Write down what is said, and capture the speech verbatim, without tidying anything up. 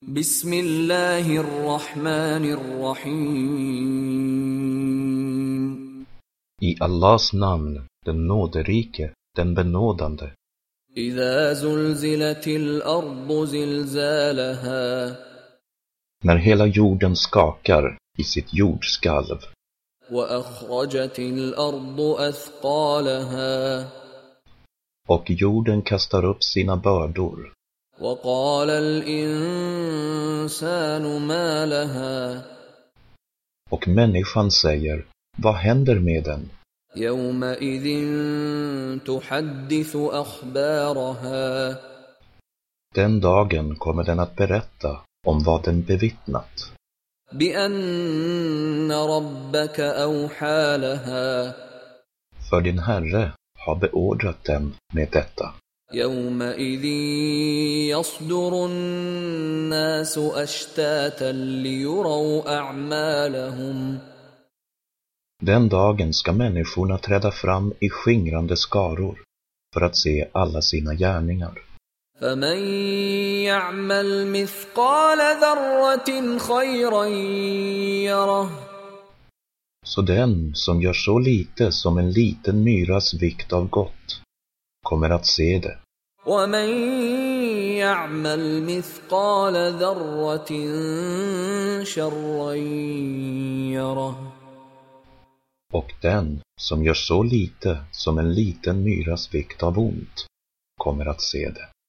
Bismillahirrahmanirrahim. I Allahs namn, den nåderike, den benådande. Idha zulzilatil ardu zilzalaha. När hela jorden skakar i sitt jordskalv. Wa akhrajatil ardu athqalaha. Och jorden kastar upp sina bördor. Wa qala al-insanu ma laha. Och människan säger, vad händer med den? Yawma idhin tuhaddithu akhbaraha. Den dagen kommer den att berätta om vad den bevittnat. Bi anna rabbaka awha laha. För din Herre har beordrat den med detta. Yawma idhin yasduru an-nasu ashtatan liyuraw a'malahum. Den dagen ska människorna träda fram i skingrande skaror för att se alla sina gärningar. فَمَنْ يَعْمَلْ مِثْقَالَ ذَرَّةٍ خَيْرًا يَرَهُ. Så den som gör så lite som en liten myras vikt av gott kommer att se det. وَمَنْ يَعْمَلْ مِثْقَالَ ذَرَّةٍ شَرًّا يَرَهُ. Och den som gör så lite som en liten myras vikt av ont kommer att se det.